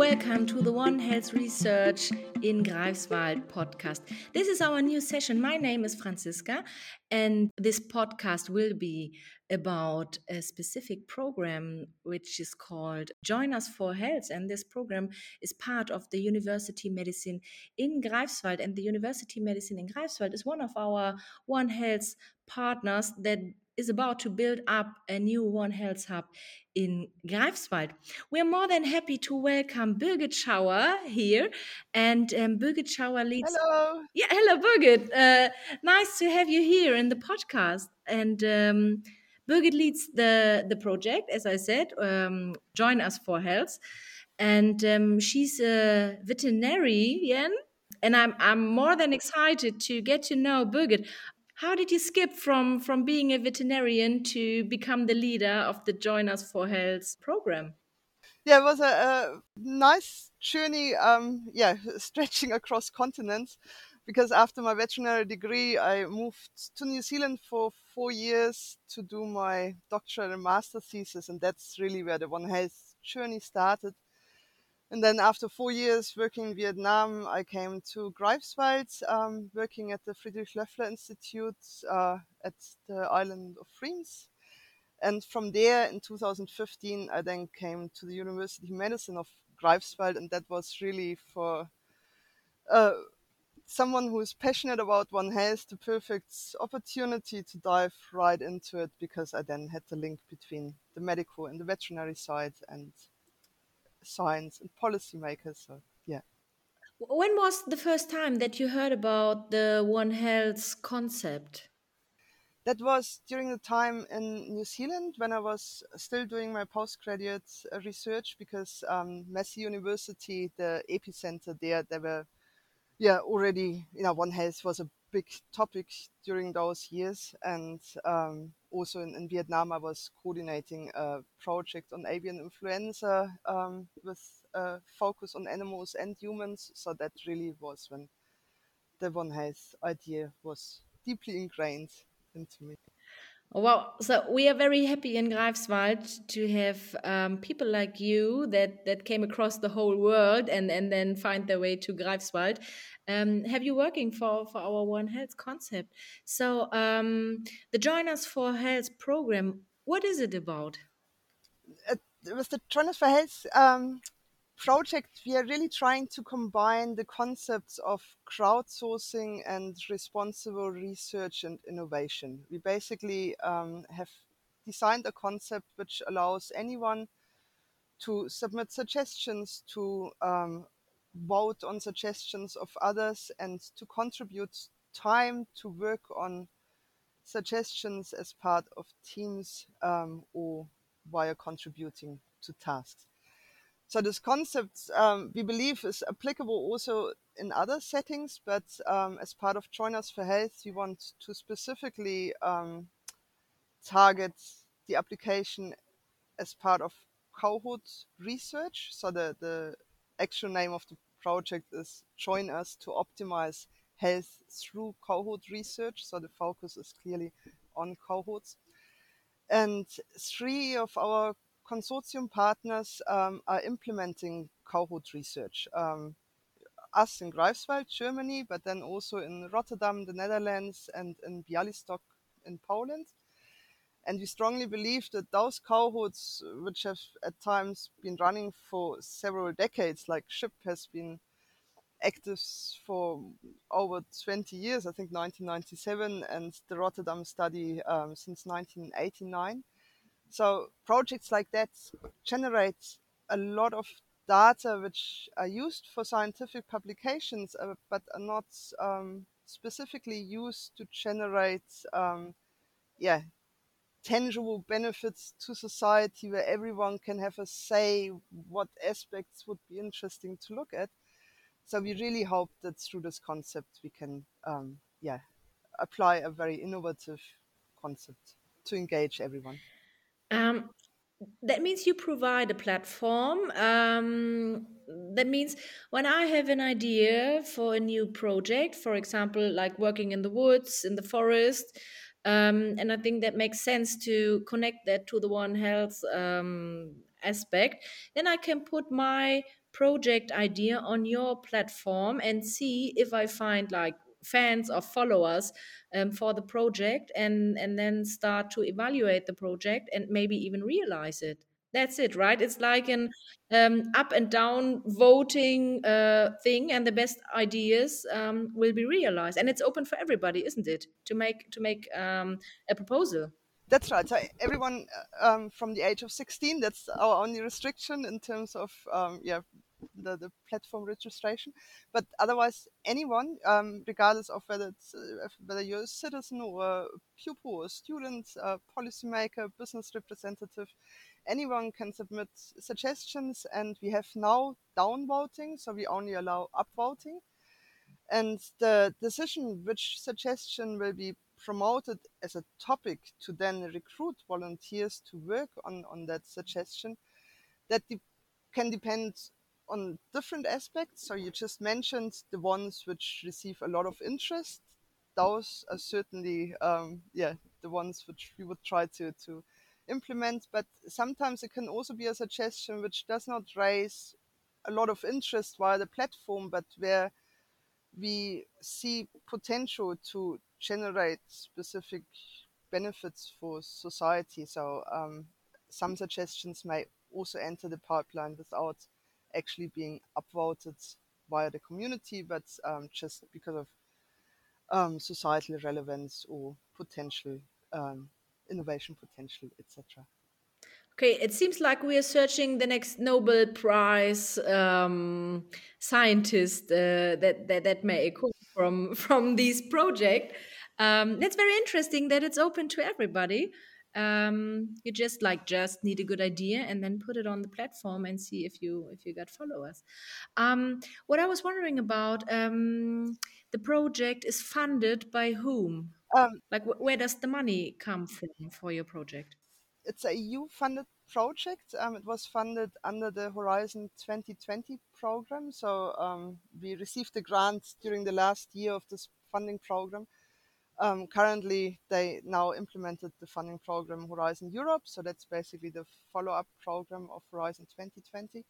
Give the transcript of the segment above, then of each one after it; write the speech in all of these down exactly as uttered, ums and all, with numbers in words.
Welcome to the One Health Research in Greifswald podcast. This is our new session. My name is Franziska, and this podcast will be about a specific program which is called Join Us for Health. And this program is part of the University Medicine in Greifswald. And the University Medicine in Greifswald is one of our One Health partners that is about to build up a new One Health hub in Greifswald. We're more than happy to welcome Birgit Schauer here, and um, Birgit Schauer leads. Hello. Yeah, hello, Birgit. Uh, nice to have you here in the podcast. And um, Birgit leads the the project, as I said. Um, Join Us for Health, and um, she's a veterinarian. And I'm I'm more than excited to get to know Birgit. How did you skip from, from being a veterinarian to become the leader of the Join Us for Health program? Yeah, it was a, a nice journey, um, yeah, stretching across continents, because after my veterinary degree, I moved to New Zealand for four years to do my doctoral and master thesis, and that's really where the One Health journey started. And then after four years working in Vietnam, I came to Greifswald, um, working at the Friedrich Loeffler Institute uh, at the island of Friends. And from there, in two thousand fifteen, I then came to the University of Medicine of Greifswald, and that was really for uh, someone who is passionate about One Health, the perfect opportunity to dive right into it, because I then had the link between the medical and the veterinary side and science and policymakers. So, yeah. When was the first time that you heard about the One Health concept? That was during the time in New Zealand when I was still doing my postgraduate uh, research, because um, Massey University, the epicenter there, they were, yeah, already, you know, One Health was a big topic during those years. And um, also in, in Vietnam, I was coordinating a project on avian influenza um, with a focus on animals and humans. So that really was when the One Health idea was deeply ingrained into me. Oh, wow. So we are very happy in Greifswald to have um, people like you that, that came across the whole world and, and then find their way to Greifswald. Um, have you working for, for our One Health concept? So um, the Join Us for Health program, what is it about? Uh, with the Join Us for Health um, project, we are really trying to combine the concepts of crowdsourcing and responsible research and innovation. We basically um, have designed a concept which allows anyone to submit suggestions, to um, vote on suggestions of others, and to contribute time to work on suggestions as part of teams um, or via contributing to tasks. So this concept, um, we believe, is applicable also in other settings, but um, as part of Join Us for Health, we want to specifically um, target the application as part of cohort research. So the, the actual name of the project is Join Us to Optimize Health through Cohort Research. So the focus is clearly on cohorts. And three of our consortium partners um, are implementing cohort research. Um, us in Greifswald, Germany, but then also in Rotterdam, the Netherlands, and in Bialystok in Poland. And we strongly believe that those cohorts, which have at times been running for several decades, like S H I P has been active for over twenty years, I think nineteen ninety-seven, and the Rotterdam study um, since nineteen eighty-nine. So projects like that generate a lot of data which are used for scientific publications, uh, but are not um, specifically used to generate um, yeah, tangible benefits to society, where everyone can have a say what aspects would be interesting to look at. So we really hope that through this concept we can um, yeah, apply a very innovative concept to engage everyone. Um, that means you provide a platform. Um, that means when I have an idea for a new project, for example, like working in the woods, in the forest, um, and I think that makes sense to connect that to the One Health um, aspect, then I can put my project idea on your platform and see if I find like fans or followers um, for the project, and and then start to evaluate the project and maybe even realize it. That's it, right? It's like an um, up and down voting uh, thing, and the best ideas um, will be realized, and it's open for everybody, isn't it, to make to make um, a proposal. That's right. So everyone uh, um, from the age of sixteen, that's our only restriction in terms of um, yeah the, the platform registration. But otherwise, anyone, um, regardless of whether it's uh, whether you're a citizen or a pupil or a student, a policymaker, business representative, anyone can submit suggestions. And we have now downvoting, so we only allow upvoting. And the decision which suggestion will be promoted as a topic to then recruit volunteers to work on, on that suggestion, that de- can depend on different aspects. So you just mentioned the ones which receive a lot of interest. Those are certainly, um, yeah, the ones which we would try to, to implement. But sometimes it can also be a suggestion which does not raise a lot of interest via the platform, but where we see potential to generate specific benefits for society. So um, some suggestions may also enter the pipeline without actually being upvoted via the community, but um, just because of um, societal relevance or potential um, innovation potential, et cetera. Okay, it seems like we are searching the next Nobel Prize um, scientist uh, that, that that may come from from this project. Um, that's very interesting that it's open to everybody. Um, you just like just need a good idea and then put it on the platform and see if you if you got followers. Um, what I was wondering about, um, the project is funded by whom? Um, Like, wh- where does the money come from for your project? it's a E U-funded project. Um, it was funded under the Horizon twenty twenty program. So um, we received the grant during the last year of this funding program. Um, currently, they now implemented the funding program Horizon Europe. So that's basically the follow-up program of Horizon twenty twenty.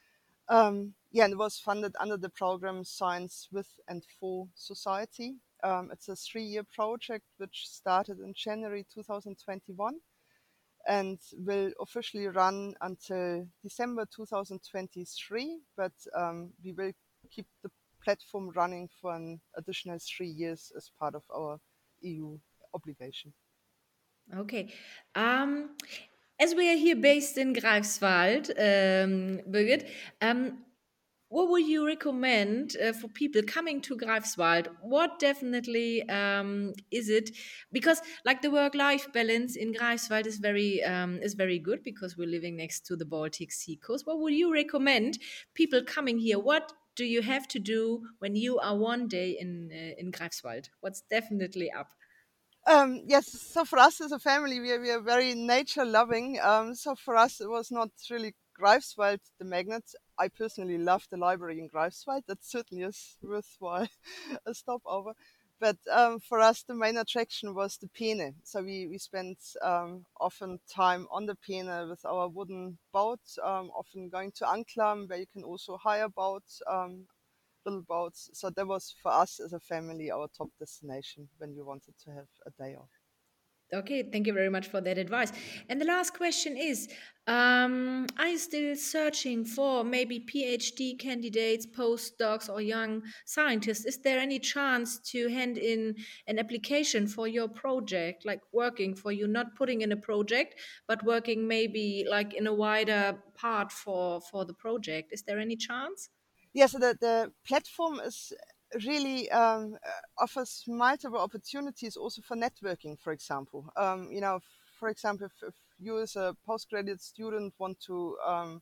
Um, yeah, and it was funded under the program Science with and for Society. Um, it's a three-year project which started in January two thousand twenty-one and will officially run until December two thousand twenty-three, but um, we will keep the platform running for an additional three years as part of our E U obligation. Okay. Um, as we are here based in Greifswald, um, Birgit, um, what would you recommend uh, for people coming to Greifswald? What definitely um, is it? Because like the work-life balance in Greifswald is very um, is very good because we're living next to the Baltic Sea coast. What would you recommend people coming here? What do you have to do when you are one day in uh, in Greifswald? What's definitely up? Um, yes, so for us as a family, we are, we are very nature loving. Um, so for us, it was not really Greifswald the magnet. I personally love the library in Greifswald. That certainly is worthwhile a stopover. But um, for us, the main attraction was the Peene. So we, we spent um, often time on the Peene with our wooden boat, um, often going to Anklam, where you can also hire boats, um, little boats. So that was for us as a family our top destination when we wanted to have a day off. Okay, thank you very much for that advice. And the last question is, um, are you still searching for maybe PhD candidates, postdocs, or young scientists? Is there any chance to hand in an application for your project, like working for you, not putting in a project, but working maybe like in a wider part for for the project? Is there any chance? Yeah, so the, the platform is really um, uh, offers multiple opportunities also for networking, for example. Um, you know, for example, if, if you as a postgraduate student want to um,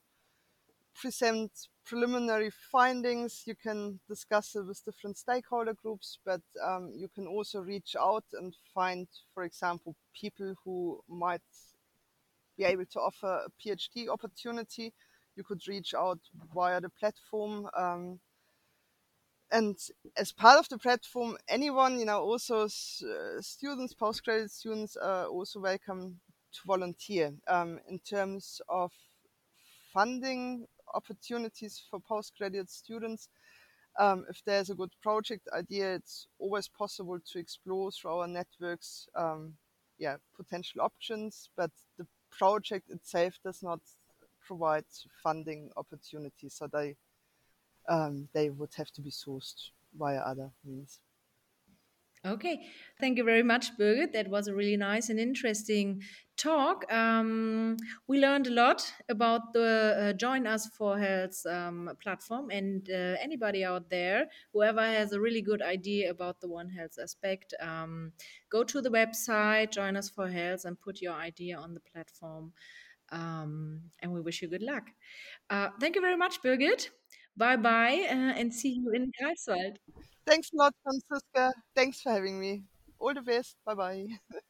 present preliminary findings, you can discuss it with different stakeholder groups, but um, you can also reach out and find, for example, people who might be able to offer a PhD opportunity. You could reach out via the platform. Um, and as part of the platform, anyone, you know, also uh, students, postgraduate students are also welcome to volunteer. Um, in terms of funding opportunities for postgraduate students. Um, if there's a good project idea, it's always possible to explore through our networks, um, yeah, potential options, but the project itself does not provide funding opportunities, so they um, they would have to be sourced via other means. Okay, thank you very much, Birgit. That was a really nice and interesting talk. Um, we learned a lot about the uh, Join Us for Health um, platform, and uh, anybody out there, whoever has a really good idea about the One Health aspect, um, go to the website Join Us for Health and put your idea on the platform. Um, and we wish you good luck. Uh, thank you very much, Birgit. Bye bye, uh, and see you in Greifswald. Thanks a lot, Franziska. Thanks for having me. All the best. Bye bye.